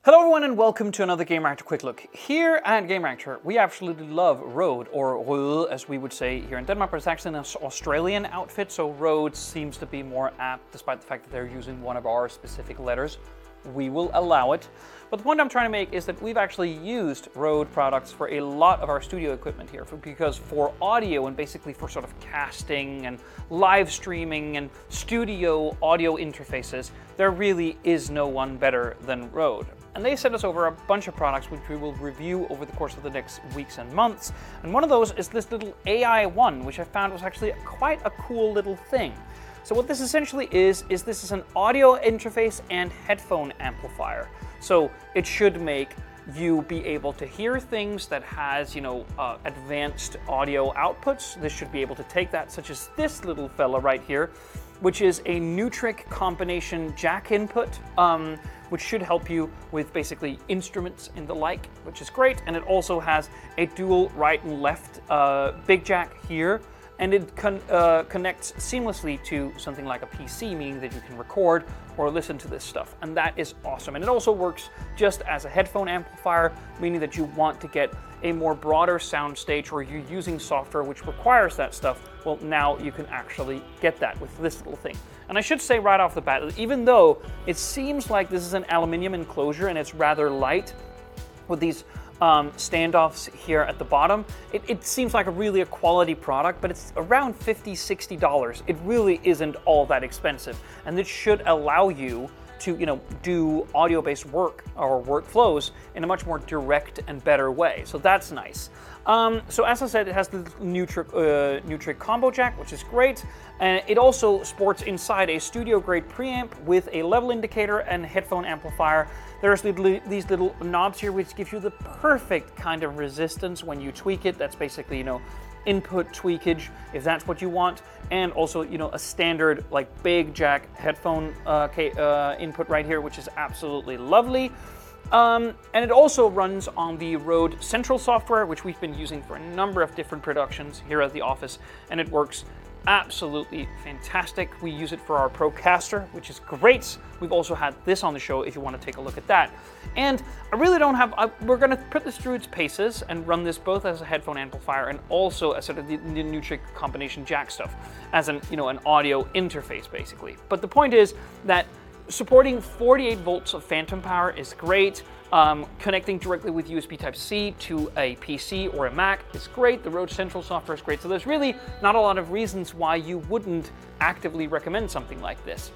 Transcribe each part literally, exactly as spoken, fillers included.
Hello everyone and welcome to another Gamereactor Quick Look. Here at Gamereactor, we absolutely love Rode, or Rode as we would say here in Denmark, but it's actually an Australian outfit, so Rode seems to be more apt despite the fact that they're using one of our specific letters. We will allow it. But the point I'm trying to make is that we've actually used Rode products for a lot of our studio equipment here, for, because for audio and basically for sort of casting and live streaming and studio audio interfaces, there really is no one better than Rode. And they sent us over a bunch of products which we will review over the course of the next weeks and months. And one of those is this little A I one, which I found was actually quite a cool little thing. So what this essentially is, is this is an audio interface and headphone amplifier. So it should make you be able to hear things that has, you know, uh, advanced audio outputs. This should be able to take that, such as this little fella right here, which is a Neutrik combination jack input, um, which should help you with basically instruments and the like, which is great. And it also has a dual right and left uh, big jack here. And it con uh, connects seamlessly to something like a P C, meaning that you can record or listen to this stuff. And that is awesome. And it also works just as a headphone amplifier, meaning that you want to get a more broader sound stage or you're using software which requires that stuff. Well, now you can actually get that with this little thing. And I should say right off the bat, that even though it seems like this is an aluminum enclosure and it's rather light with these Um, standoffs here at the bottom, it, it seems like a really a quality product, but it's around fifty, sixty dollars. It really isn't all that expensive, and this should allow you to, you know, do audio-based work or workflows in a much more direct and better way. So that's nice. Um, so as I said, it has the Neutrik, uh, Neutrik combo jack, which is great. And it also sports inside a studio-grade preamp with a level indicator and headphone amplifier. There's little, these little knobs here which give you the perfect kind of resistance when you tweak it. That's basically, you know, input tweakage, if that's what you want. And also, you know, a standard like big jack headphone uh, uh, input right here, which is absolutely lovely. Um, and it also runs on the Rode Central software, which we've been using for a number of different productions here at the office, and it works absolutely fantastic. We use it for our Procaster, which is great. We've also had this on the show if you want to take a look at that. And I really don't have, I, we're going to put this through its paces and run this both as a headphone amplifier and also as sort of the, the Neutrik combination jack stuff, as an, you know, an audio interface basically. But the point is that supporting forty-eight volts of phantom power is great. Um, connecting directly with U S B Type C to a P C or a Mac is great. The Rode Central software is great. So there's really not a lot of reasons why you wouldn't actively recommend something like this.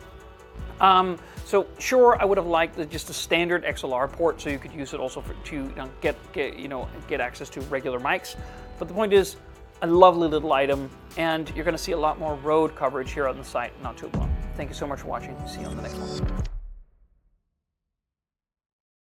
Um, so sure, I would have liked the, just a standard X L R port, so you could use it also for, to you know, get, get you know get access to regular mics. But the point is, a lovely little item, and you're going to see a lot more Rode coverage here on the site not too long. Thank you so much for watching. See you on the next one.